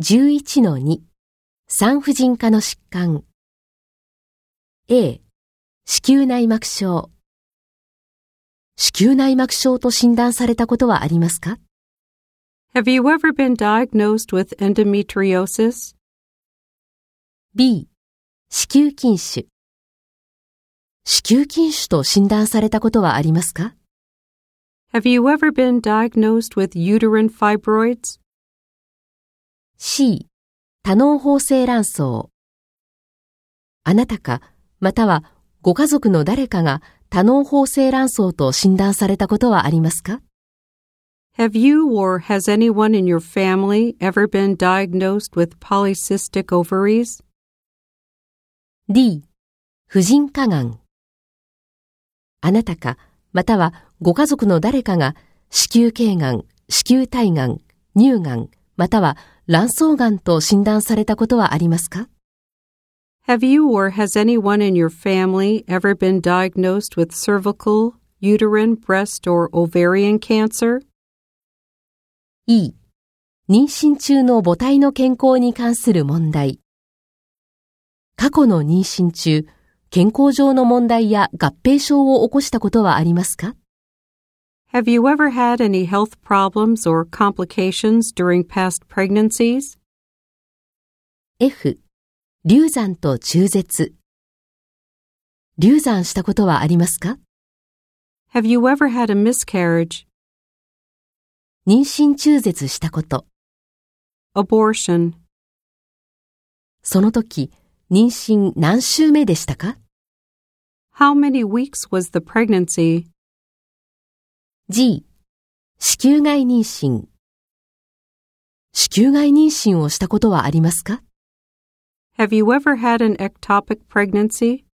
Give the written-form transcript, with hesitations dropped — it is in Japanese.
11-2 産婦人科の疾患 A 子宮内膜症子宮内膜症と診断されたことはありますか？ Have you ever been diagnosed with endometriosis? B 子宮筋腫子宮筋腫と診断されたことはありますか？ Have you ever been diagnosed with uterine fibroids? C 多嚢胞性卵巣あなたかまたはご家族の誰かが多嚢胞性卵巣と診断されたことはありますか？ Have you or has anyone in your family ever been diagnosed with polycystic ovaries? D 婦人科がんあなたかまたはご家族の誰かが子宮頸がん、子宮体がん、乳がんまたは卵巣がんと診断されたことはありますか？ Have you or has anyone in your family ever been diagnosed with cervical, uterine, breast, or ovarian cancer? E 妊娠中の母体の健康に関する問題過去の妊娠中健康上の問題や合併症を起こしたことはありますか？ Have you ever had any health problems or complications during past pregnancies? F 流産と中絶流産したことはありますか？ Have you ever had a miscarriage? 妊娠中絶したこと Abortion. その時妊娠何週目でしたか？ How many weeks was the pregnancy? G 子宮外妊娠子宮外妊娠をしたことはありますか？ Have you ever had an ectopic pregnancy?